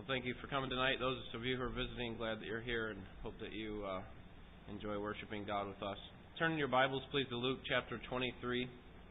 Thank you for coming tonight. Those of you who are visiting, glad that you're here and hope that you enjoy worshiping God with us. Turn in your Bibles, please, to Luke chapter 23.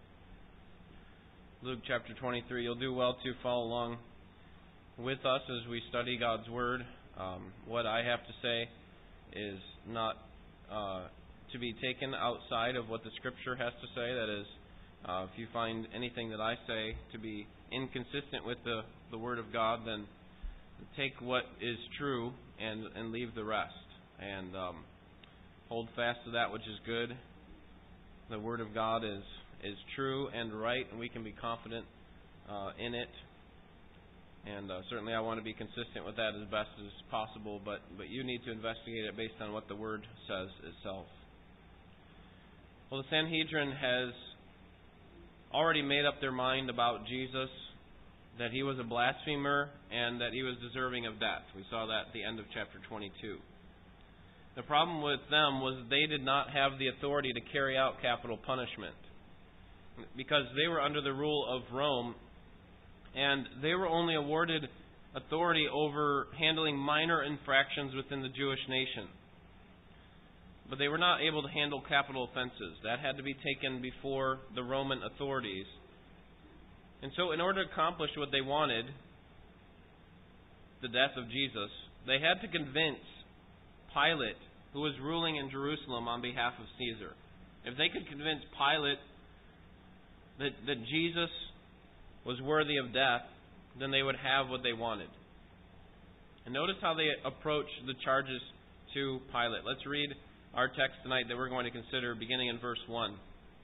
Luke chapter 23. You'll do well to follow along with us as we study God's Word. What I have to say is not to be taken outside of what the Scripture has to say. That is, if you find anything that I say to be inconsistent with the Word of God, then take what is true and leave the rest. And hold fast to that which is good. The Word of God is true and right, and we can be confident in it. And certainly I want to be consistent with that as best as possible, but you need to investigate it based on what the Word says itself. Well, the Sanhedrin has already made up their mind about Jesus, that he was a blasphemer and that he was deserving of death. We saw that at the end of chapter 22. The problem with them was they did not have the authority to carry out capital punishment because they were under the rule of Rome, and they were only awarded authority over handling minor infractions within the Jewish nation. But they were not able to handle capital offenses. That had to be taken before the Roman authorities. And so in order to accomplish what they wanted, the death of Jesus, they had to convince Pilate, who was ruling in Jerusalem on behalf of Caesar. If they could convince Pilate that Jesus was worthy of death, then they would have what they wanted. And notice how they approached the charges to Pilate. Let's read our text tonight that we're going to consider beginning in verse 1.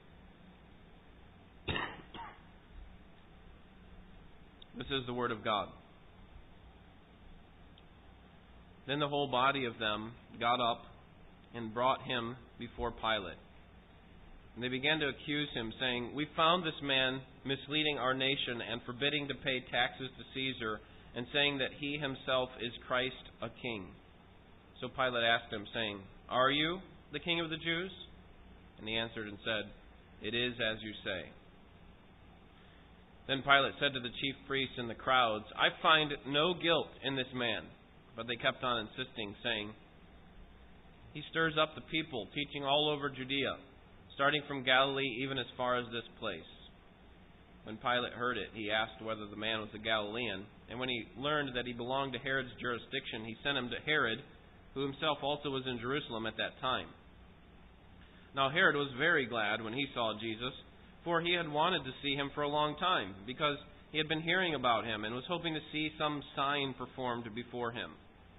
This is the Word of God. Then the whole body of them got up and brought him before Pilate. And they began to accuse him, saying, "We found this man misleading our nation and forbidding to pay taxes to Caesar, and saying that he himself is Christ, a king." So Pilate asked him, saying, "Are you the king of the Jews?" And he answered and said, "It is as you say." Then Pilate said to the chief priests and the crowds, "I find no guilt in this man." But they kept on insisting, saying, "He stirs up the people, teaching all over Judea, starting from Galilee even as far as this place." When Pilate heard it, he asked whether the man was a Galilean. And when he learned that he belonged to Herod's jurisdiction, he sent him to Herod, who himself also was in Jerusalem at that time. Now Herod was very glad when he saw Jesus, for he had wanted to see him for a long time, because he had been hearing about him and was hoping to see some sign performed before him.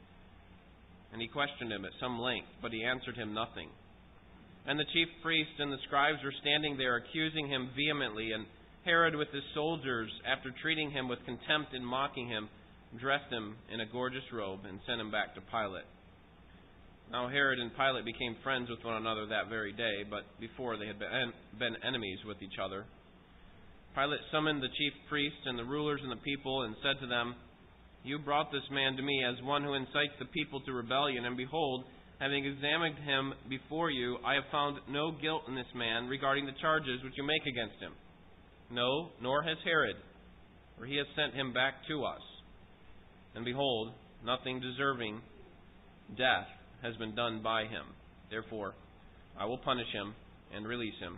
And he questioned him at some length, but he answered him nothing. And the chief priests and the scribes were standing there accusing him vehemently, and Herod with his soldiers, after treating him with contempt and mocking him, dressed him in a gorgeous robe and sent him back to Pilate. Now Herod and Pilate became friends with one another that very day, but before they had been enemies with each other. Pilate summoned the chief priests and the rulers and the people and said to them, "You brought this man to me as one who incites the people to rebellion, and behold, having examined him before you, I have found no guilt in this man regarding the charges which you make against him. No, nor has Herod, for he has sent him back to us. And behold, nothing deserving death has been done by him. Therefore, I will punish him and release him."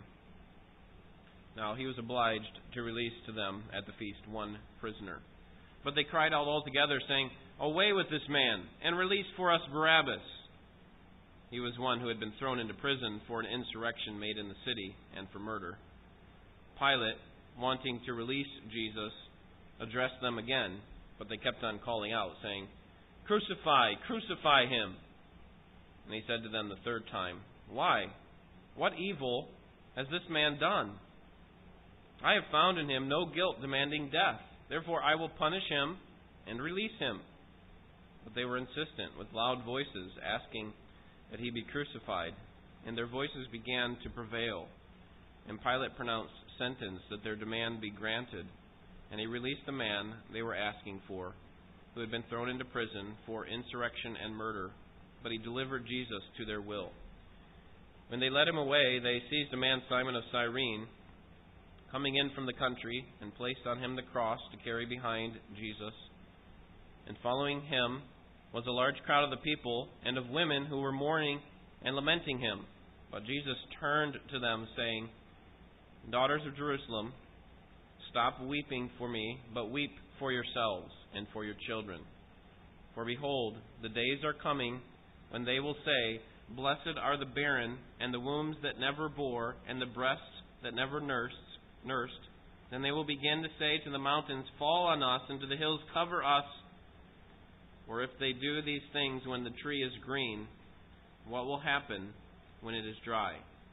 Now he was obliged to release to them at the feast one prisoner. But they cried out all together, saying, "Away with this man, and release for us Barabbas." He was one who had been thrown into prison for an insurrection made in the city and for murder. Pilate, wanting to release Jesus, addressed them again, but they kept on calling out, saying, "Crucify, crucify him." And he said to them the third time, "Why? What evil has this man done? I have found in him no guilt demanding death. Therefore I will punish him and release him." But they were insistent with loud voices, asking that he be crucified. And their voices began to prevail. And Pilate pronounced sentence that their demand be granted. And he released the man they were asking for, who had been thrown into prison for insurrection and murder. But he delivered Jesus to their will. When they led him away, they seized a man, Simon of Cyrene, coming in from the country, and placed on him the cross to carry behind Jesus. And following him was a large crowd of the people and of women who were mourning and lamenting him. But Jesus turned to them, saying, Daughters of Jerusalem, stop weeping for me, but weep for yourselves and for your children. For behold, the days are coming when they will say, Blessed are the barren, and the wombs that never bore, and the breasts that never nursed. Then they will begin to say to the mountains, Fall on us, and to the hills, cover us. Or if they do these things when the tree is green, what will happen when it is dry?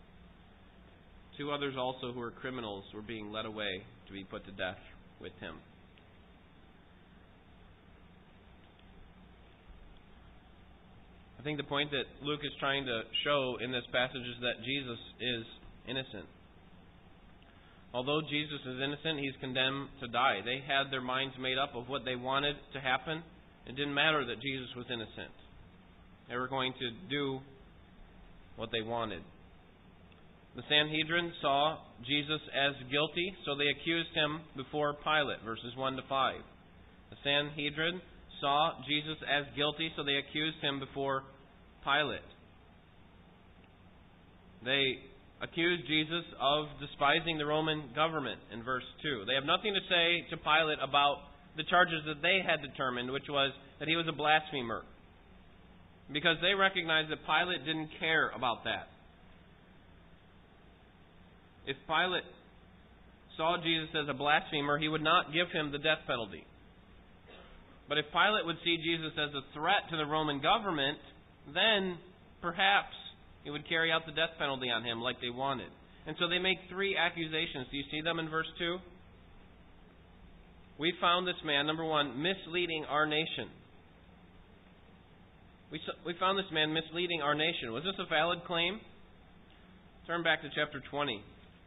2 others also who were criminals were being led away to be put to death with him. I think the point that Luke is trying to show in this passage is that Jesus is innocent. Although Jesus is innocent, he's condemned to die. They had their minds made up of what they wanted to happen. It didn't matter that Jesus was innocent. They were going to do what they wanted. The Sanhedrin saw Jesus as guilty, so they accused him before Pilate, verses 1 to 5. The Sanhedrin saw Jesus as guilty, so they accused him before Pilate. They accused Jesus of despising the Roman government in verse 2. They have nothing to say to Pilate about the charges that they had determined, which was that he was a blasphemer. Because they recognized that Pilate didn't care about that. If Pilate saw Jesus as a blasphemer, he would not give him the death penalty. But if Pilate would see Jesus as a threat to the Roman government, then perhaps he would carry out the death penalty on him like they wanted. And so they make 3 accusations. Do you see them in verse 2? We found this man, number 1, misleading our nation. We found this man misleading our nation. Was this a valid claim? Turn back to chapter 20.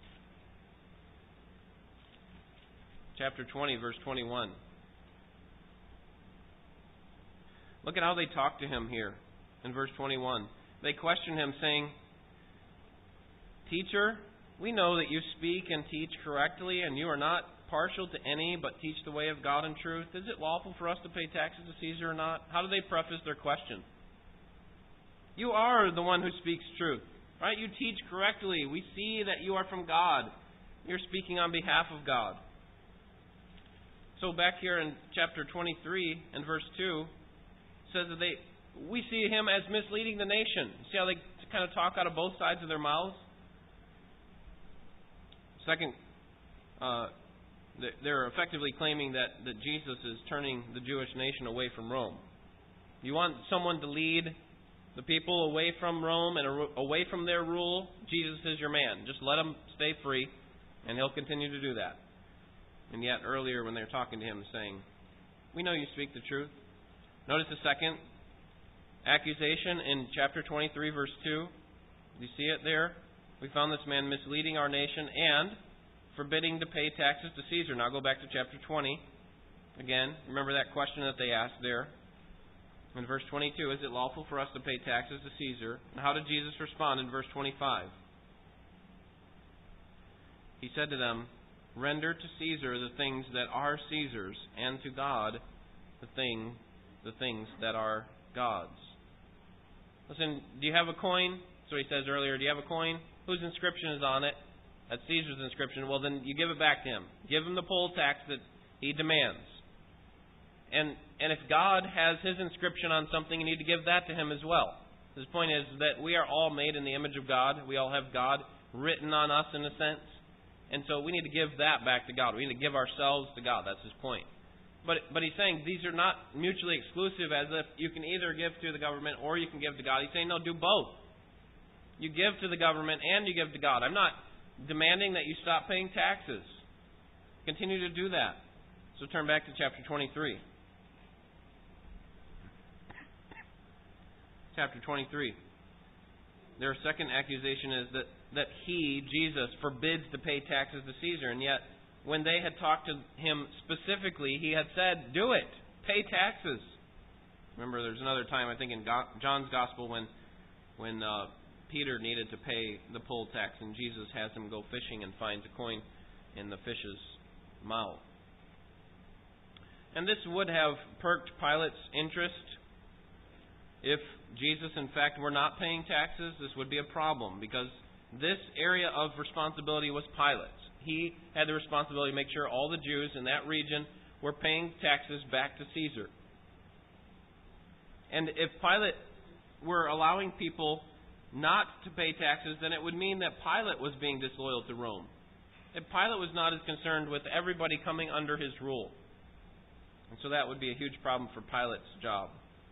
Chapter 20, verse 21. Look at how they talk to him here in verse 21. They question him, saying, Teacher, we know that you speak and teach correctly, and you are not partial to any, but teach the way of God in truth. Is it lawful for us to pay taxes to Caesar or not? How do they preface their question? You are the one who speaks truth, right? You teach correctly. We see that you are from God. You're speaking on behalf of God. So back here in chapter 23 and verse 2, says that we see him as misleading the nation. See how they kind of talk out of both sides of their mouths? Second, they're effectively claiming that Jesus is turning the Jewish nation away from Rome. You want someone to lead the people away from Rome and away from their rule? Jesus is your man. Just let him stay free, and he'll continue to do that. And yet earlier when they're talking to him saying, we know you speak the truth. Notice the second accusation in chapter 23, verse 2. Do you see it there? We found this man misleading our nation and forbidding to pay taxes to Caesar. Now go back to chapter 20. Again, remember that question that they asked there. In verse 22, is it lawful for us to pay taxes to Caesar? And how did Jesus respond in verse 25? He said to them, Render to Caesar the things that are Caesar's, and to God the things that are God's. Listen, do you have a coin? So he says earlier, do you have a coin? Whose inscription is on it? That's Caesar's inscription. Well, then you give it back to him. Give him the poll tax that he demands. And if God has his inscription on something, you need to give that to him as well. His point is that we are all made in the image of God. We all have God written on us in a sense. And so we need to give that back to God. We need to give ourselves to God. That's his point. But he's saying these are not mutually exclusive, as if you can either give to the government or you can give to God. He's saying, no, do both. You give to the government and you give to God. I'm not demanding that you stop paying taxes. Continue to do that. So turn back to chapter 23. Chapter 23. Their second accusation is that he, Jesus, forbids to pay taxes to Caesar. And yet, when they had talked to him specifically, he had said, do it. Pay taxes. Remember, there's another time, I think in John's Gospel, when Peter needed to pay the poll tax, and Jesus has him go fishing and finds a coin in the fish's mouth. And this would have perked Pilate's interest. If Jesus, in fact, were not paying taxes, this would be a problem, because this area of responsibility was Pilate's. He had the responsibility to make sure all the Jews in that region were paying taxes back to Caesar. And if Pilate were allowing people not to pay taxes, then it would mean that Pilate was being disloyal to Rome. And Pilate was not as concerned with everybody coming under his rule. And so that would be a huge problem for Pilate's job.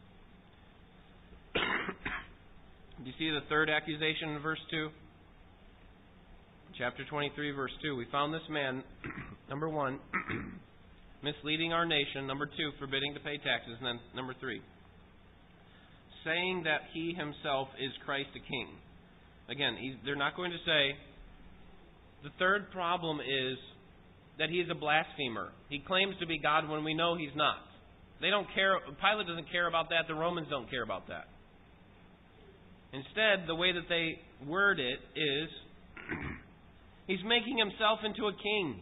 Do you see the third accusation in verse 2? Chapter 23, verse 2. We found this man, number 1, misleading our nation. Number 2, forbidding to pay taxes. And then number 3, saying that he himself is Christ the King. Again, they're not going to say. The third problem is that he is a blasphemer. He claims to be God when we know he's not. They don't care. Pilate doesn't care about that. The Romans don't care about that. Instead, the way that they word it is, he's making himself into a king.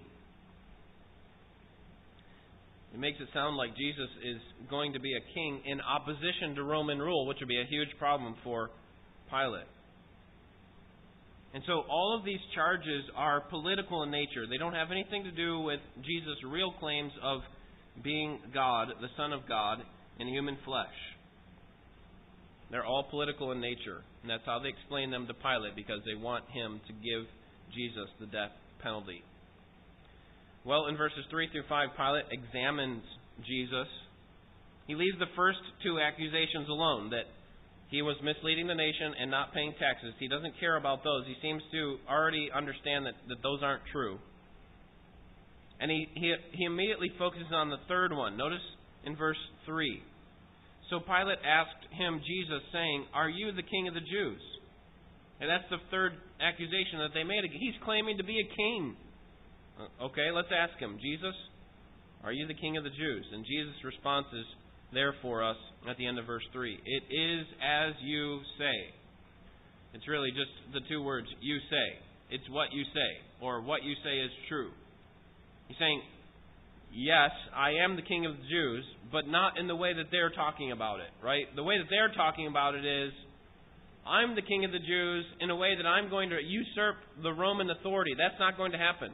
It makes it sound like Jesus is going to be a king in opposition to Roman rule, which would be a huge problem for Pilate. And so all of these charges are political in nature. They don't have anything to do with Jesus' real claims of being God, the Son of God, in human flesh. They're all political in nature. And that's how they explain them to Pilate, because they want him to give Jesus the death penalty. Well, in verses 3 through 5, Pilate examines Jesus. He leaves the first two accusations alone, that he was misleading the nation and not paying taxes. He doesn't care about those. He seems to already understand that those aren't true. And he immediately focuses on the third one. Notice in verse 3. So Pilate asked him, Jesus, saying, "Are you the king of the Jews?" And that's the third accusation that they made. He's claiming to be a king. Okay, let's ask him, Jesus, are you the king of the Jews? And Jesus' response is there for us at the end of verse 3. It is as you say. It's really just the two words, you say. It's what you say, or what you say is true. He's saying, yes, I am the king of the Jews, but not in the way that they're talking about it, right? The way that they're talking about it is, I'm the king of the Jews in a way that I'm going to usurp the Roman authority. That's not going to happen.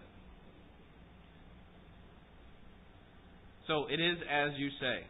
So it is as you say.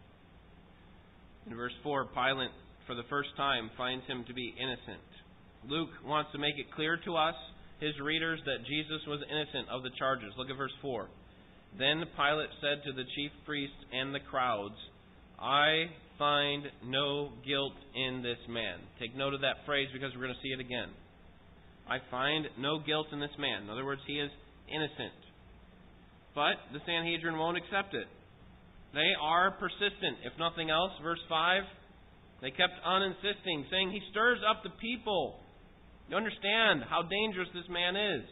In verse 4, Pilate, for the first time, finds him to be innocent. Luke wants to make it clear to us, his readers, that Jesus was innocent of the charges. Look at verse 4. Then Pilate said to the chief priests and the crowds, I find no guilt in this man. Take note of that phrase, because we're going to see it again. I find no guilt in this man. In other words, he is innocent. But the Sanhedrin won't accept it. They are persistent. If nothing else, verse 5, they kept on insisting, saying, he stirs up the people. You understand how dangerous this man is.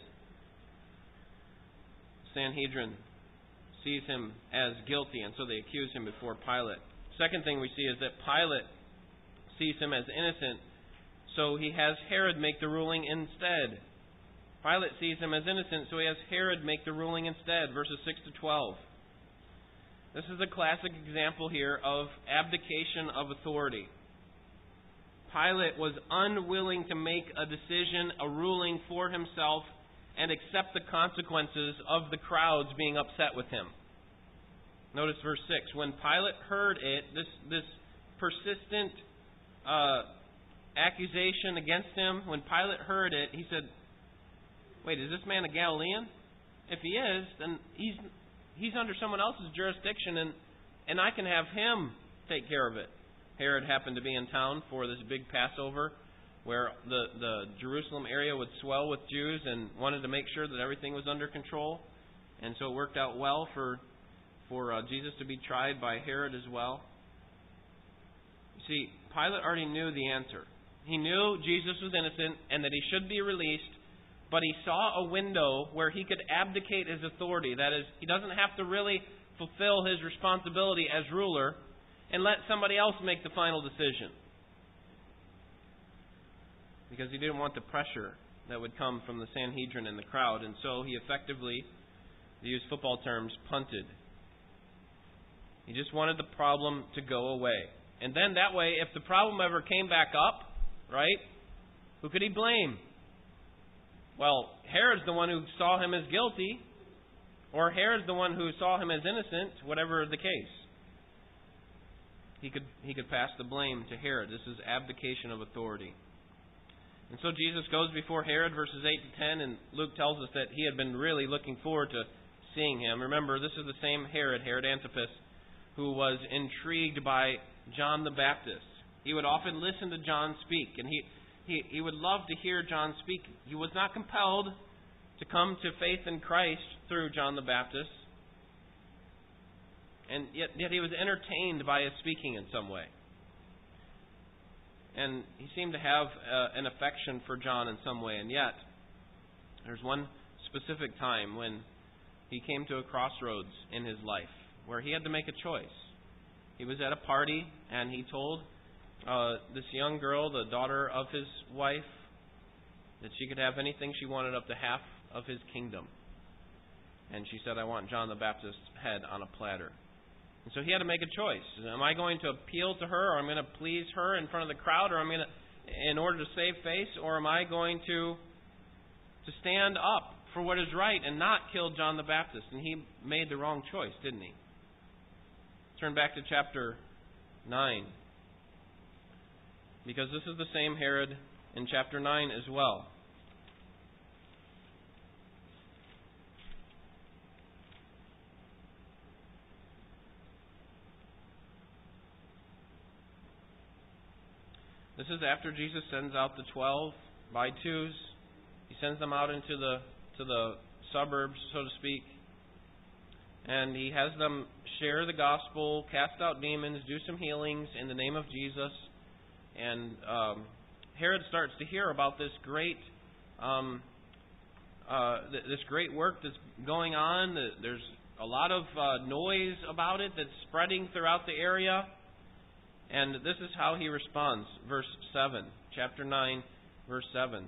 Sanhedrin sees him as guilty, and so they accuse him before Pilate. Second thing we see is that Pilate sees him as innocent, so he has Herod make the ruling instead. Pilate sees him as innocent, so he has Herod make the ruling instead. Verses 6 to 12. This is a classic example here of abdication of authority. Pilate was unwilling to make a decision, a ruling for himself, and accept the consequences of the crowds being upset with him. Notice verse 6. When Pilate heard it, this persistent accusation against him, when Pilate heard it, he said, wait, is this man a Galilean? If he is, then he's under someone else's jurisdiction, and I can have him take care of it. Herod happened to be in town for this big Passover, where the Jerusalem area would swell with Jews, and wanted to make sure that everything was under control. And so it worked out well for Jesus to be tried by Herod as well. You see, Pilate already knew the answer. He knew Jesus was innocent and that he should be released, but he saw a window where he could abdicate his authority. That is, he doesn't have to really fulfill his responsibility as ruler and let somebody else make the final decision. Because he didn't want the pressure that would come from the Sanhedrin and the crowd. And so he effectively, to use football terms, punted. He just wanted the problem to go away. And then that way, if the problem ever came back up, right, who could he blame? Well, Herod's the one who saw him as guilty, or Herod's the one who saw him as innocent, whatever the case. He could pass the blame to Herod. This is abdication of authority. And so Jesus goes before Herod, verses 8 to 10, and Luke tells us that he had been really looking forward to seeing him. Remember, this is the same Herod Antipas, who was intrigued by John the Baptist. He would often listen to John speak, and he would love to hear John speak. He was not compelled to come to faith in Christ through John the Baptist, and yet he was entertained by his speaking in some way. And he seemed to have an affection for John in some way. And yet, there's one specific time when he came to a crossroads in his life where he had to make a choice. He was at a party, and he told this young girl, the daughter of his wife, that she could have anything she wanted up to half of his kingdom. And she said, "I want John the Baptist's head on a platter." And so he had to make a choice. Am I going to appeal to her, or I'm going to please her in front of the crowd, or I'm going to, in order to save face, or am I going to stand up for what is right and not kill John the Baptist? And he made the wrong choice, didn't he? Turn back to chapter 9. Because this is the same Herod in chapter 9 as well. This is after Jesus sends out the 12 by twos. He sends them out into the suburbs, so to speak. And he has them share the gospel, cast out demons, do some healings in the name of Jesus. And Herod starts to hear about this great work that's going on. There's a lot of noise about it that's spreading throughout the area. And this is how he responds. Verse 7. Chapter 9, verse 7.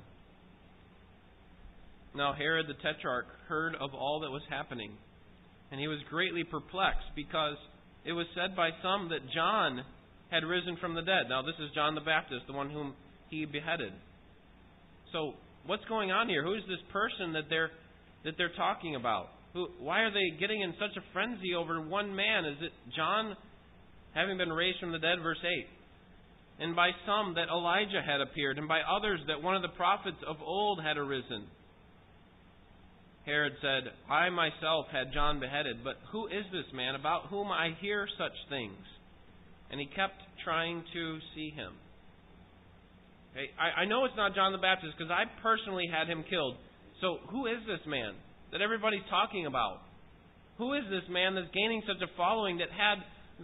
Now Herod the Tetrarch heard of all that was happening, and he was greatly perplexed, because it was said by some that John had risen from the dead. Now this is John the Baptist, the one whom he beheaded. So what's going on here? Who is this person that they're talking about? Why are they getting in such a frenzy over one man? Is it John having been raised from the dead? Verse 8. And by some that Elijah had appeared, and by others that one of the prophets of old had arisen. Herod said, I myself had John beheaded, but who is this man about whom I hear such things? And he kept trying to see him. Okay, I know it's not John the Baptist, because I personally had him killed. So who is this man that everybody's talking about? Who is this man that's gaining such a following, that had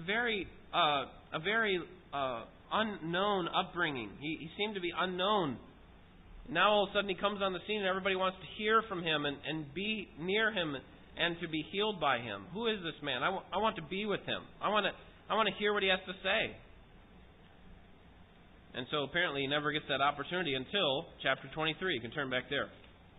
a very unknown upbringing? He seemed to be unknown. Now all of a sudden he comes on the scene, and everybody wants to hear from him and be near him and to be healed by him. Who is this man? I want to be with him. I want to hear what he has to say. And so apparently he never gets that opportunity until chapter 23. You can turn back there.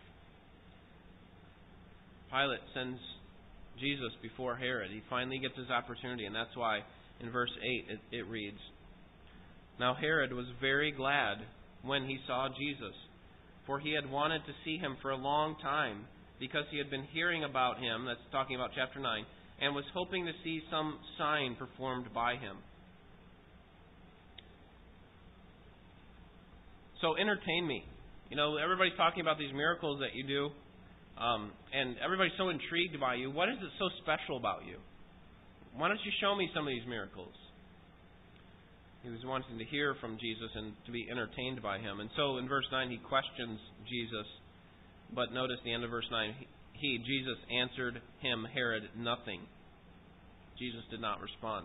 Pilate sends Jesus before Herod. He finally gets his opportunity, and that's why in verse 8 it reads, Now Herod was very glad when he saw Jesus, for he had wanted to see him for a long time, because he had been hearing about him, that's talking about chapter 9, and was hoping to see some sign performed by him. So entertain me. You know, everybody's talking about these miracles that you do, and everybody's so intrigued by you. What is it so special about you? Why don't you show me some of these miracles? He was wanting to hear from Jesus and to be entertained by him. And so in verse 9 he questions Jesus. But notice the end of verse 9. Jesus, answered him, Herod, nothing. Jesus did not respond.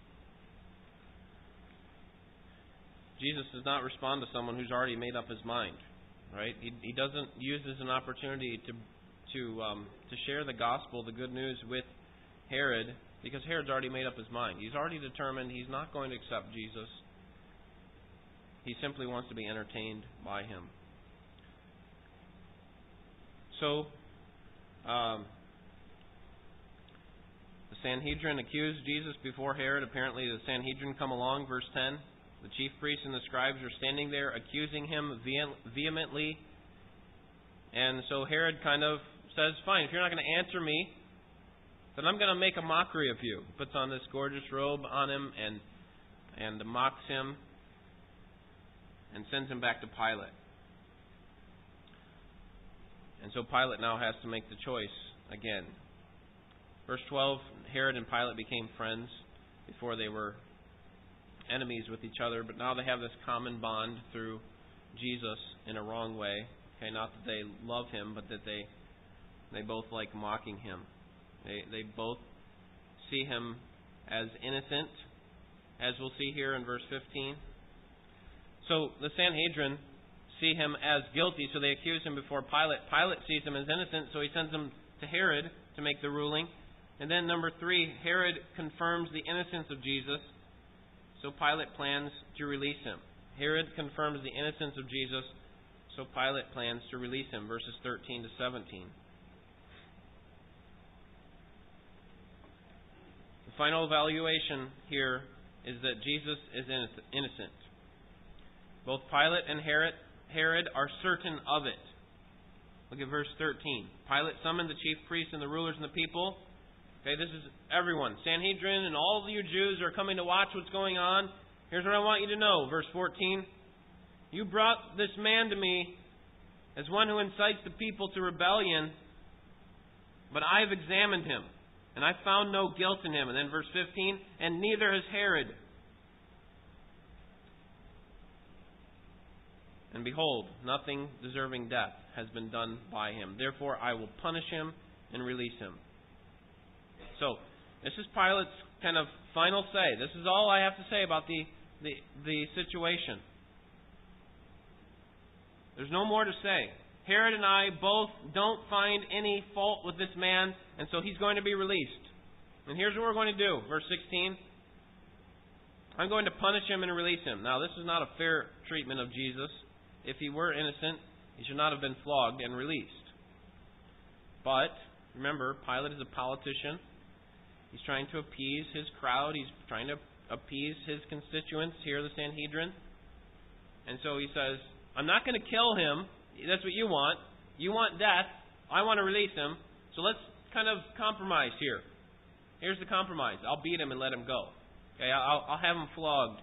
Jesus does not respond to someone who's already made up his mind. Right? He doesn't use this as an opportunity to share the gospel, the good news, with Herod, because Herod's already made up his mind. He's already determined he's not going to accept Jesus. He simply wants to be entertained by him. So, the Sanhedrin accused Jesus before Herod. Apparently the Sanhedrin come along, verse 10. The chief priests and the scribes are standing there accusing him vehemently. And so Herod kind of says, fine, if you're not going to answer me, then I'm going to make a mockery of you. Puts on this gorgeous robe on him and mocks him and sends him back to Pilate. And so Pilate now has to make the choice again. Verse 12, Herod and Pilate became friends. Before they were enemies with each other, but now they have this common bond through Jesus in a wrong way. Okay, not that they love him, but that they both like mocking him. They both see him as innocent, as we'll see here in verse 15. So the Sanhedrin see him as guilty, so they accuse him before Pilate. Pilate sees him as innocent, so he sends him to Herod to make the ruling. And then number 3, Herod confirms the innocence of Jesus, so Pilate plans to release him. Herod confirms the innocence of Jesus, so Pilate plans to release him, verses 13 to 17. The final evaluation here is that Jesus is innocent. Both Pilate and Herod are certain of it. Look at verse 13. Pilate summoned the chief priests and the rulers and the people. Okay, this is everyone. Sanhedrin and all of you Jews are coming to watch what's going on. Here's what I want you to know. Verse 14. You brought this man to me as one who incites the people to rebellion, but I have examined him, and I found no guilt in him. And then verse 15. And neither has Herod. And behold, nothing deserving death has been done by him. Therefore I will punish him and release him. So, this is Pilate's kind of final say. This is all I have to say about the situation. There's no more to say. Herod and I both don't find any fault with this man, and so he's going to be released. And here's what we're going to do. Verse 16. I'm going to punish him and release him. Now, this is not a fair treatment of Jesus. If he were innocent, he should not have been flogged and released. But, remember, Pilate is a politician. He's trying to appease his crowd. He's trying to appease his constituents here, the Sanhedrin. And so he says, I'm not going to kill him. That's what you want. You want death. I want to release him. So let's kind of compromise here. Here's the compromise. I'll beat him and let him go. Okay, I'll have him flogged.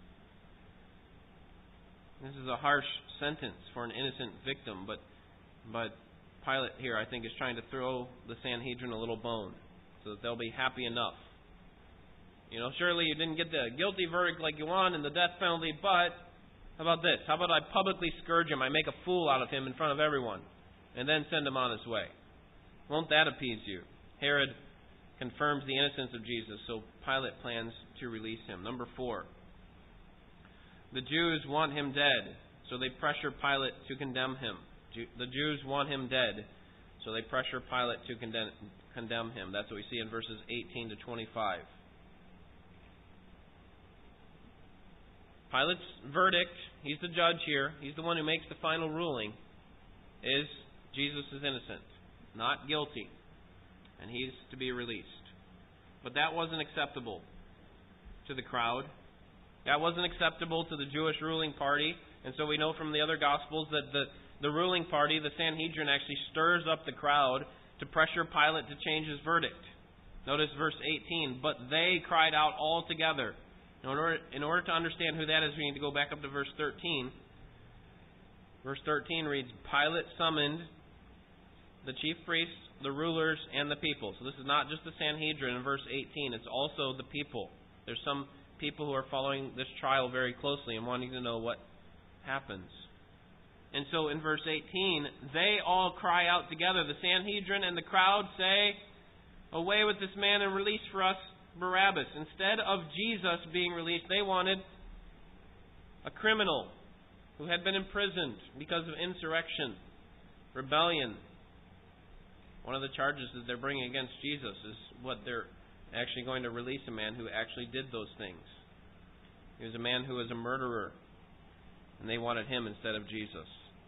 This is a harsh sentence for an innocent victim, but Pilate here, I think, is trying to throw the Sanhedrin a little bone so that they'll be happy enough. Surely you didn't get the guilty verdict like you want and the death penalty, but how about this? How about I publicly scourge him? I make a fool out of him in front of everyone and then send him on his way. Won't that appease you? Herod confirms the innocence of Jesus, so Pilate plans to release him. Number 4. The Jews want him dead, so they pressure Pilate to condemn him. The Jews want him dead, so they pressure Pilate to condemn him. That's what we see in verses 18 to 25. Pilate's verdict, he's the judge here, he's the one who makes the final ruling, is Jesus is innocent, not guilty, and he's to be released. But that wasn't acceptable to the crowd. That wasn't acceptable to the Jewish ruling party. And so we know from the other Gospels that the ruling party, the Sanhedrin, actually stirs up the crowd to pressure Pilate to change his verdict. Notice verse 18. But they cried out all together. In order to understand who that is, we need to go back up to verse 13. Verse 13 reads, Pilate summoned the chief priests, the rulers, and the people. So this is not just the Sanhedrin in verse 18. It's also the people. There's some people who are following this trial very closely and wanting to know what happens. And so in verse 18, they all cry out together. The Sanhedrin and the crowd say, away with this man and release for us Barabbas. Instead of Jesus being released, they wanted a criminal who had been imprisoned because of insurrection, rebellion. One of the charges that they're bringing against Jesus is what they're actually going to release a man who actually did those things. He was a man who was a murderer, and they wanted him instead of Jesus.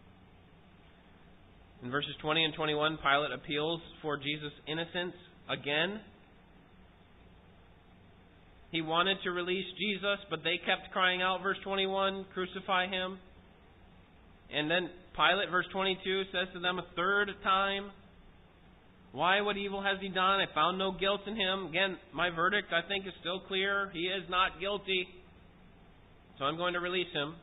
In verses 20 and 21, Pilate appeals for Jesus' innocence again. He wanted to release Jesus, but they kept crying out, verse 21, crucify him. And then Pilate, verse 22, says to them a third time, why, what evil has he done? I found no guilt in him. Again, my verdict, I think, is still clear. He is not guilty. So I'm going to release him.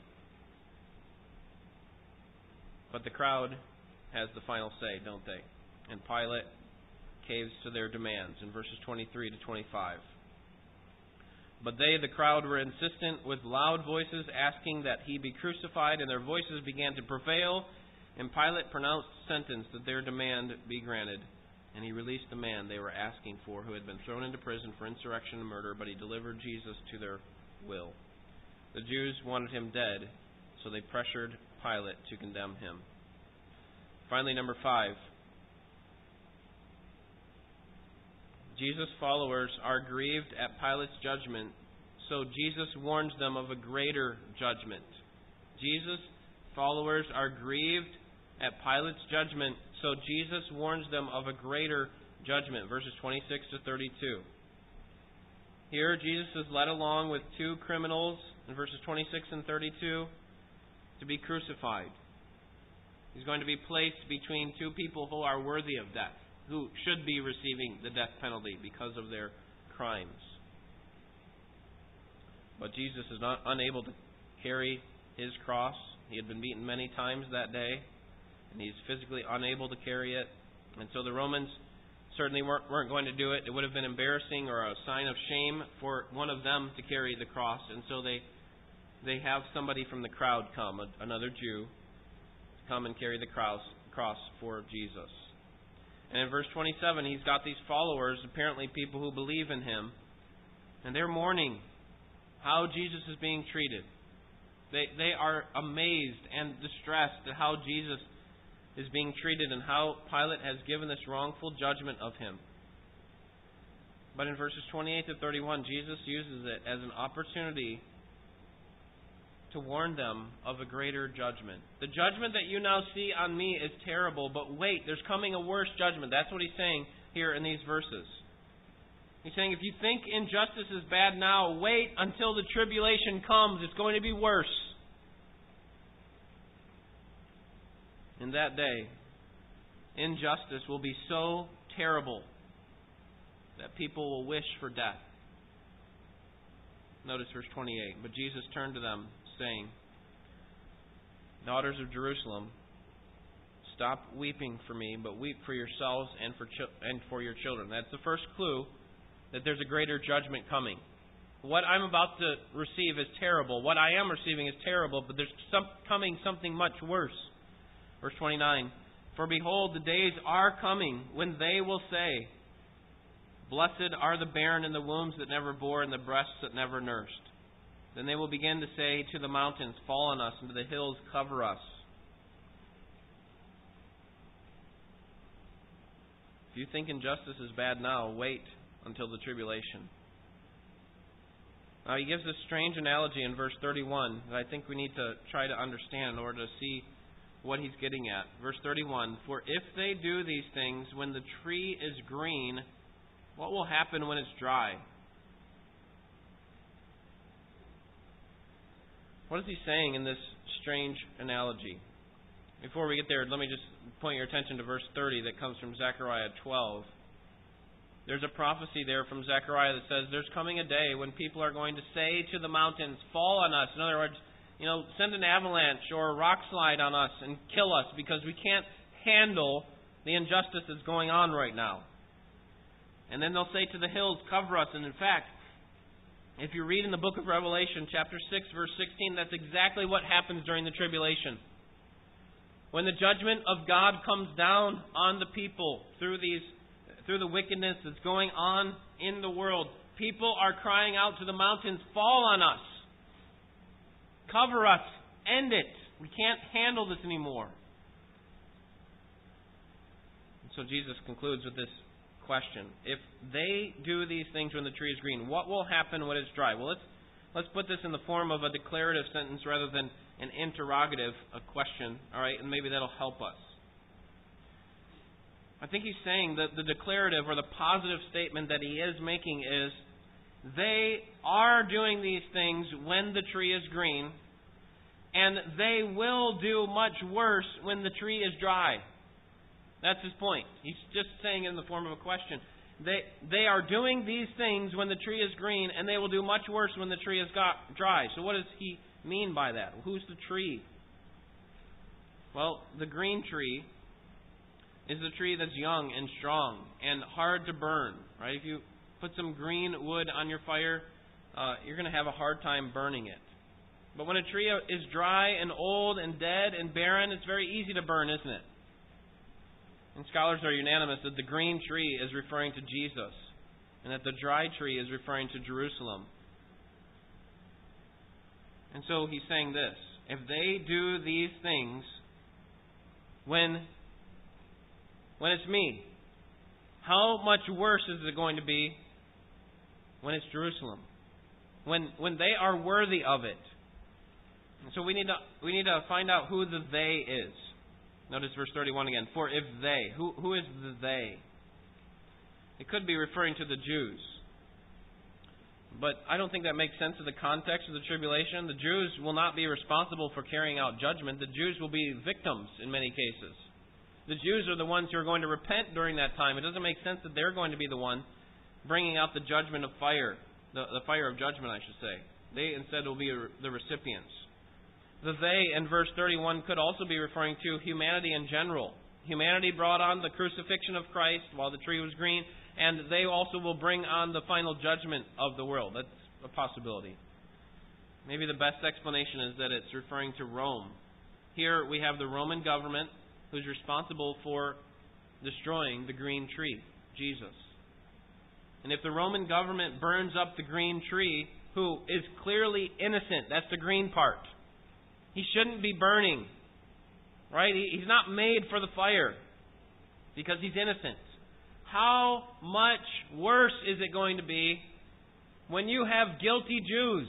But the crowd has the final say, don't they? And Pilate caves to their demands in verses 23 to 25. But they, the crowd, were insistent with loud voices, asking that he be crucified, and their voices began to prevail, and Pilate pronounced sentence that their demand be granted. And he released the man they were asking for, who had been thrown into prison for insurrection and murder, but he delivered Jesus to their will. The Jews wanted him dead, so they pressured Pilate to condemn him. Finally, number 5. Jesus' followers are grieved at Pilate's judgment, so Jesus warns them of a greater judgment. Jesus' followers are grieved at Pilate's judgment, so Jesus warns them of a greater judgment. Verses 26 to 32. Here, Jesus is led along with 2 criminals in verses 26 and 32 to be crucified. He's going to be placed between 2 people who are worthy of death, who should be receiving the death penalty because of their crimes. But Jesus is not unable to carry his cross. He had been beaten many times that day, and he's physically unable to carry it. And so the Romans certainly weren't going to do it. It would have been embarrassing or a sign of shame for one of them to carry the cross. And so they have somebody from the crowd come, another Jew, come and carry the cross for Jesus. And in verse 27, he's got these followers, apparently people who believe in him, and they're mourning how Jesus is being treated. They are amazed and distressed at how Jesus is being treated and how Pilate has given this wrongful judgment of him. But in verses 28 to 31, Jesus uses it as an opportunity to warn them of a greater judgment. The judgment that you now see on me is terrible, but wait, there's coming a worse judgment. That's what he's saying here in these verses. He's saying, if you think injustice is bad now, wait until the tribulation comes. It's going to be worse. In that day, injustice will be so terrible that people will wish for death. Notice verse 28. But Jesus turned to them, saying, daughters of Jerusalem, stop weeping for me, but weep for yourselves and for your children. That's the first clue that there's a greater judgment coming. What I'm about to receive is terrible. What I am receiving is terrible, but there's coming something much worse. Verse 29, for behold, the days are coming when they will say, blessed are the barren and the wombs that never bore and the breasts that never nursed. Then they will begin to say to the mountains, fall on us, and to the hills, cover us. If you think injustice is bad now, wait until the tribulation. Now he gives this strange analogy in verse 31 that I think we need to try to understand in order to see what he's getting at. Verse 31, for if they do these things when the tree is green, what will happen when it's dry? What is he saying in this strange analogy? Before we get there, let me just point your attention to verse 30 that comes from Zechariah 12. There's a prophecy there from Zechariah that says there's coming a day when people are going to say to the mountains, fall on us. In other words, send an avalanche or a rock slide on us and kill us because we can't handle the injustice that's going on right now. And then they'll say to the hills, cover us. And in fact, if you read in the book of Revelation, chapter 6, verse 16, that's exactly what happens during the tribulation. When the judgment of God comes down on the people through the wickedness that's going on in the world, people are crying out to the mountains, fall on us. Cover us. End it. We can't handle this anymore. And so Jesus concludes with this question. If they do these things when the tree is green, what will happen when it's dry? Well, let's put this in the form of a declarative sentence rather than an interrogative, a question. All right, and maybe that'll help us. I think he's saying that the declarative or the positive statement that he is making is, they are doing these things when the tree is green, and they will do much worse when the tree is dry. That's his point. He's just saying it in the form of a question. They are doing these things when the tree is green, and they will do much worse when the tree is dry. So what does he mean by that? Who's the tree? Well, the green tree is the tree that's young and strong and hard to burn. Right? If you put some green wood on your fire, you're going to have a hard time burning it. But when a tree is dry and old and dead and barren, it's very easy to burn, isn't it? And scholars are unanimous that the green tree is referring to Jesus, and that the dry tree is referring to Jerusalem. And so he's saying this: if they do these things when it's me, how much worse is it going to be when it's Jerusalem? When they are worthy of it. And so we need to find out who the they is. Notice verse 31 again. For if they, who is the they? It could be referring to the Jews. But I don't think that makes sense in the context of the tribulation. The Jews will not be responsible for carrying out judgment. The Jews will be victims in many cases. The Jews are the ones who are going to repent during that time. It doesn't make sense that they're going to be the one bringing out the judgment of fire. The fire of judgment, I should say. They instead will be the recipients. The they in verse 31 could also be referring to humanity in general. Humanity brought on the crucifixion of Christ while the tree was green, and they also will bring on the final judgment of the world. That's a possibility. Maybe the best explanation is that it's referring to Rome. Here we have the Roman government who's responsible for destroying the green tree, Jesus. And if the Roman government burns up the green tree, who is clearly innocent, that's the green part. He shouldn't be burning. Right? He's not made for the fire because he's innocent. How much worse is it going to be when you have guilty Jews?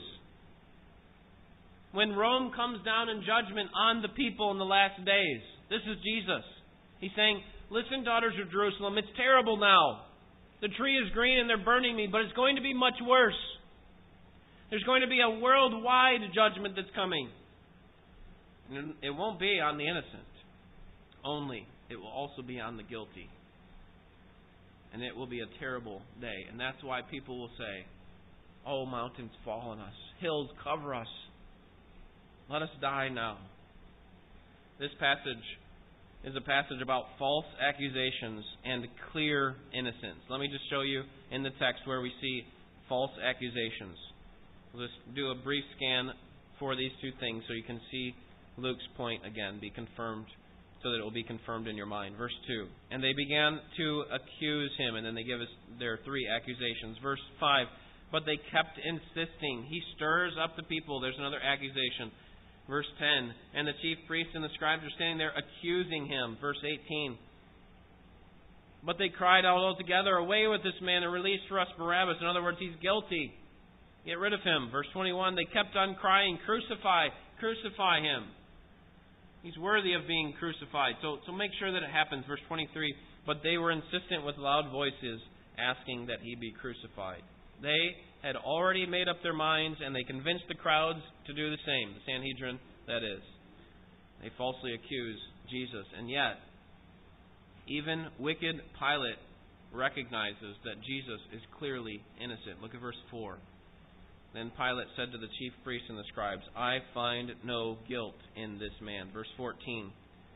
When Rome comes down in judgment on the people in the last days. This is Jesus. He's saying, listen, daughters of Jerusalem, it's terrible now. The tree is green and they're burning me, but it's going to be much worse. There's going to be a worldwide judgment that's coming. It won't be on the innocent only. It will also be on the guilty. And it will be a terrible day. And that's why people will say, oh, mountains fall on us. Hills cover us. Let us die now. This passage is a passage about false accusations and clear innocence. Let me just show you in the text where we see false accusations. We'll just do a brief scan for these two things so you can see Luke's point again be confirmed, so that it will be confirmed in your mind. Verse 2. And they began to accuse him, and then they give us their three accusations. Verse 5. But they kept insisting. He stirs up the people. There's another accusation. Verse 10. And the chief priests and the scribes are standing there accusing him. Verse 18. But they cried out all together, away with this man and release for us Barabbas. In other words, he's guilty. Get rid of him. Verse 21. They kept on crying, crucify, crucify him. He's worthy of being crucified. So make sure that it happens. Verse 23. But they were insistent with loud voices, asking that he be crucified. They had already made up their minds, and they convinced the crowds to do the same. The Sanhedrin, that is. They falsely accuse Jesus. And yet, even wicked Pilate recognizes that Jesus is clearly innocent. Look at verse 4. Then Pilate said to the chief priests and the scribes, I find no guilt in this man. Verse 14.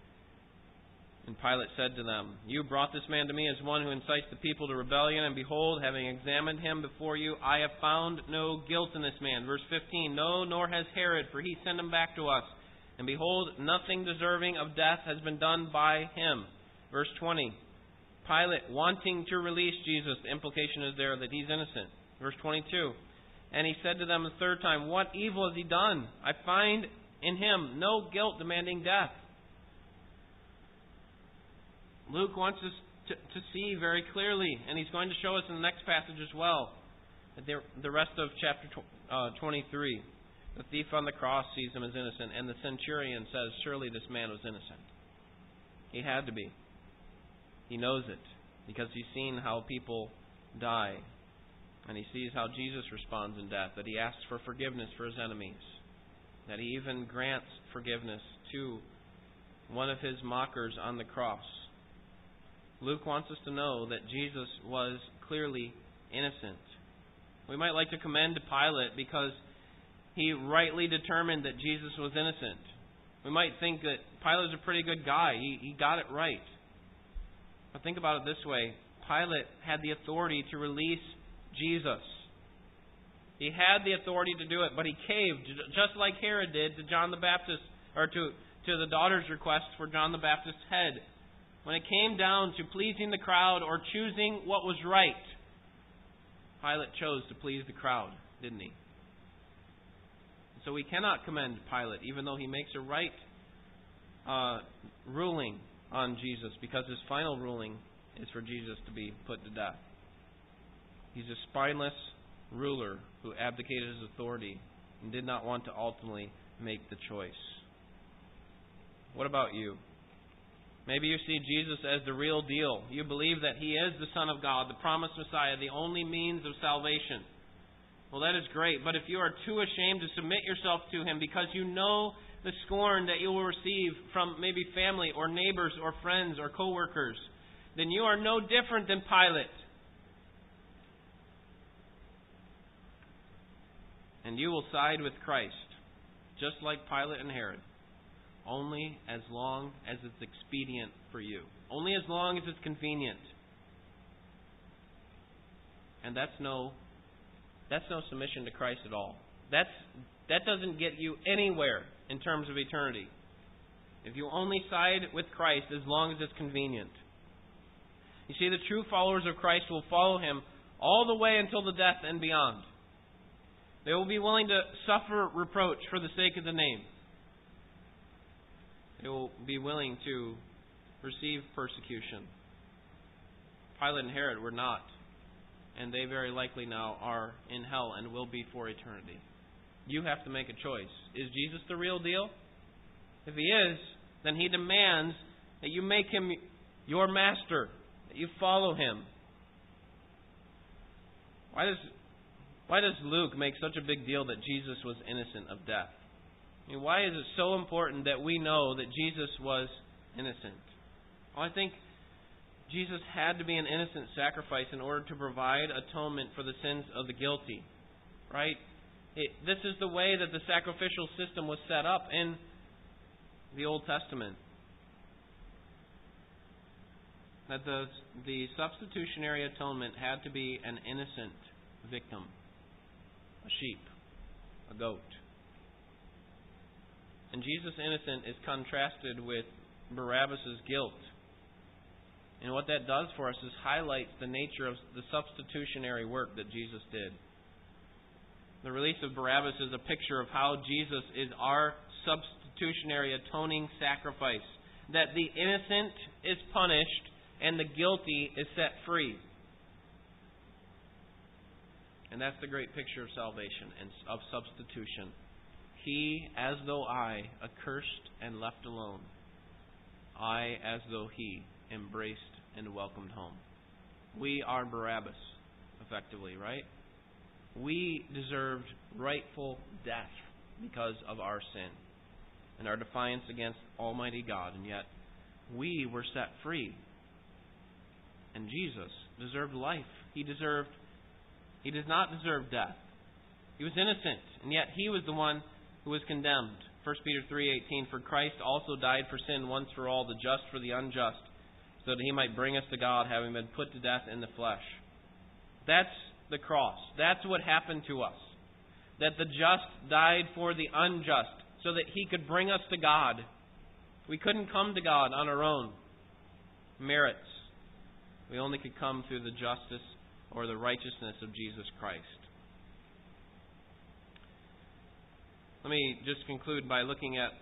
And Pilate said to them, you brought this man to me as one who incites the people to rebellion, and behold, having examined him before you, I have found no guilt in this man. Verse 15. No, nor has Herod, for he sent him back to us. And behold, nothing deserving of death has been done by him. Verse 20. Pilate wanting to release Jesus. The implication is there that he's innocent. Verse 22. And he said to them the third time, what evil has he done? I find in him no guilt demanding death. Luke wants us to see very clearly, and he's going to show us in the next passage as well, that the rest of chapter 23. The thief on the cross sees him as innocent, and the centurion says, surely this man was innocent. He had to be. He knows it, because he's seen how people die. And he sees how Jesus responds in death, that he asks for forgiveness for his enemies, that he even grants forgiveness to one of his mockers on the cross. Luke wants us to know that Jesus was clearly innocent. We might like to commend Pilate because he rightly determined that Jesus was innocent. We might think that Pilate's a pretty good guy. He got it right. But think about it this way. Pilate had the authority to release Jesus. He had the authority to do it, but he caved, just like Herod did to John the Baptist, or to the daughter's request for John the Baptist's head. When it came down to pleasing the crowd or choosing what was right, Pilate chose to please the crowd, didn't he? So we cannot commend Pilate, even though he makes a right ruling on Jesus, because his final ruling is for Jesus to be put to death. He's a spineless ruler who abdicated his authority and did not want to ultimately make the choice. What about you? Maybe you see Jesus as the real deal. You believe that He is the Son of God, the promised Messiah, the only means of salvation. Well, that is great. But if you are too ashamed to submit yourself to Him because you know the scorn that you will receive from maybe family or neighbors or friends or co-workers, then you are no different than Pilate. And you will side with Christ, just like Pilate and Herod, only as long as it's expedient for you. Only as long as it's convenient. And that's no submission to Christ at all. That doesn't get you anywhere in terms of eternity. If you only side with Christ as long as it's convenient. You see, the true followers of Christ will follow Him all the way until the death and beyond. They will be willing to suffer reproach for the sake of the name. They will be willing to receive persecution. Pilate and Herod were not, and they very likely now are in hell and will be for eternity. You have to make a choice. Is Jesus the real deal? If He is, then He demands that you make Him your master, that you follow Him. Why does Luke make such a big deal that Jesus was innocent of death? I mean, why is it so important that we know that Jesus was innocent? Well, I think Jesus had to be an innocent sacrifice in order to provide atonement for the sins of the guilty. Right? This is the way that the sacrificial system was set up in the Old Testament. That the substitutionary atonement had to be an innocent victim. A sheep. A goat. And Jesus' innocent is contrasted with Barabbas' guilt. And what that does for us is highlights the nature of the substitutionary work that Jesus did. The release of Barabbas is a picture of how Jesus is our substitutionary atoning sacrifice. That the innocent is punished and the guilty is set free. And that's the great picture of salvation and of substitution. He, as though I, accursed and left alone. I, as though He, embraced and welcomed home. We are Barabbas, effectively, right? We deserved rightful death because of our sin and our defiance against Almighty God. And yet, we were set free. And Jesus deserved life. He does not deserve death. He was innocent, and yet He was the one who was condemned. 1 Peter 3:18, for Christ also died for sin once for all, the just for the unjust, so that He might bring us to God, having been put to death in the flesh. That's the cross. That's what happened to us. That the just died for the unjust, so that He could bring us to God. We couldn't come to God on our own merits. We only could come through the justice or the righteousness of Jesus Christ. Let me just conclude by looking at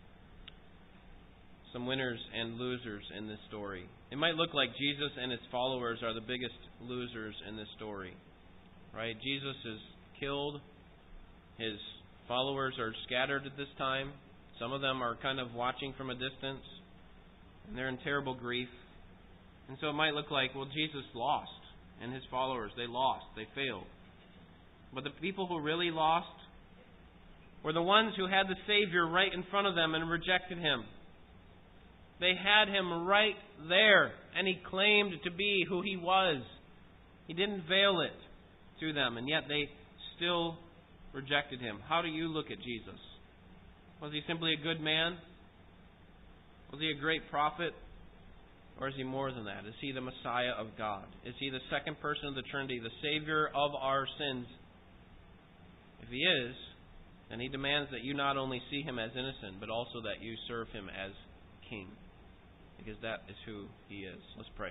some winners and losers in this story. It might look like Jesus and His followers are the biggest losers in this story. Right? Jesus is killed. His followers are scattered at this time. Some of them are kind of watching from a distance. And they're in terrible grief. And so it might look like, well, Jesus lost. and his followers, they lost, they failed. But the people who really lost were the ones who had the Savior right in front of them and rejected Him. They had Him right there, and He claimed to be who He was. He didn't veil it to them, and yet they still rejected Him. How do you look at Jesus? Was He simply a good man? Was He a great prophet? Or is He more than that? Is He the Messiah of God? Is He the second person of the Trinity, the Savior of our sins? If He is, then He demands that you not only see Him as innocent, but also that you serve Him as King. Because that is who He is. Let's pray.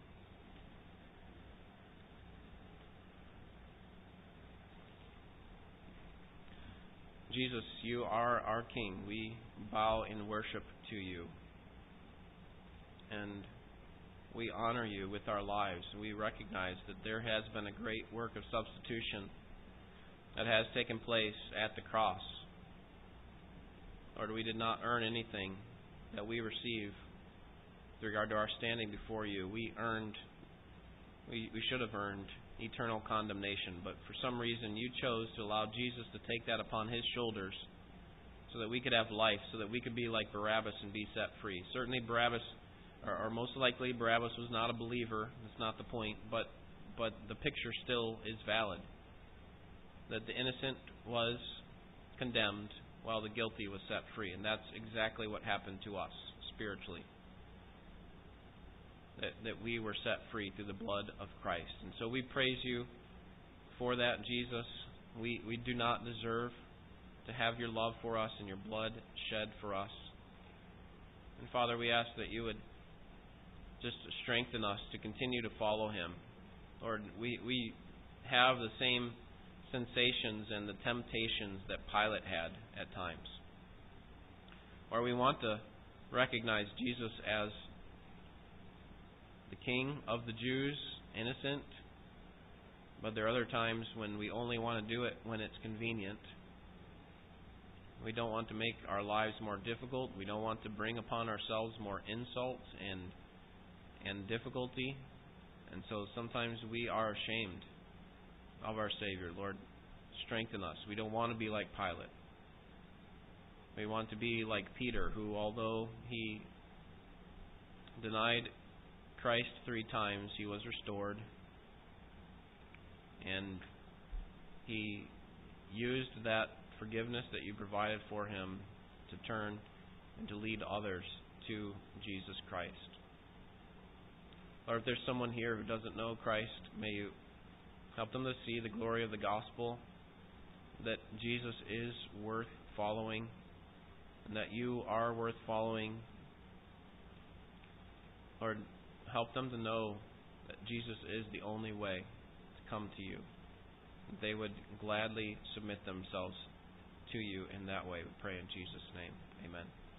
Jesus, You are our King. We bow in worship to You. And we honor You with our lives. We recognize that there has been a great work of substitution that has taken place at the cross. Lord, we did not earn anything that we receive with regard to our standing before You. We should have earned eternal condemnation, but for some reason You chose to allow Jesus to take that upon His shoulders so that we could have life, so that we could be like Barabbas and be set free. Certainly Barabbas, or most likely Barabbas was not a believer. That's not the point, but the picture still is valid. That the innocent was condemned while the guilty was set free. And that's exactly what happened to us spiritually. That we were set free through the blood of Christ. And so we praise You for that, Jesus. We do not deserve to have Your love for us and Your blood shed for us. And Father, we ask that You would just strengthen us to continue to follow Him. Lord, we have the same sensations and the temptations that Pilate had at times. Or we want to recognize Jesus as the King of the Jews, innocent. But there are other times when we only want to do it when it's convenient. We don't want to make our lives more difficult. We don't want to bring upon ourselves more insults and difficulty. And so sometimes we are ashamed of our Savior. Lord, strengthen us. We don't want to be like Pilate. We want to be like Peter, who, although he denied Christ 3 times, he was restored. And he used that forgiveness that You provided for him to turn and to lead others to Jesus Christ. Or if there's someone here who doesn't know Christ, may You help them to see the glory of the gospel, that Jesus is worth following, and that You are worth following. Lord, help them to know that Jesus is the only way to come to You. That they would gladly submit themselves to You in that way. We pray in Jesus' name. Amen.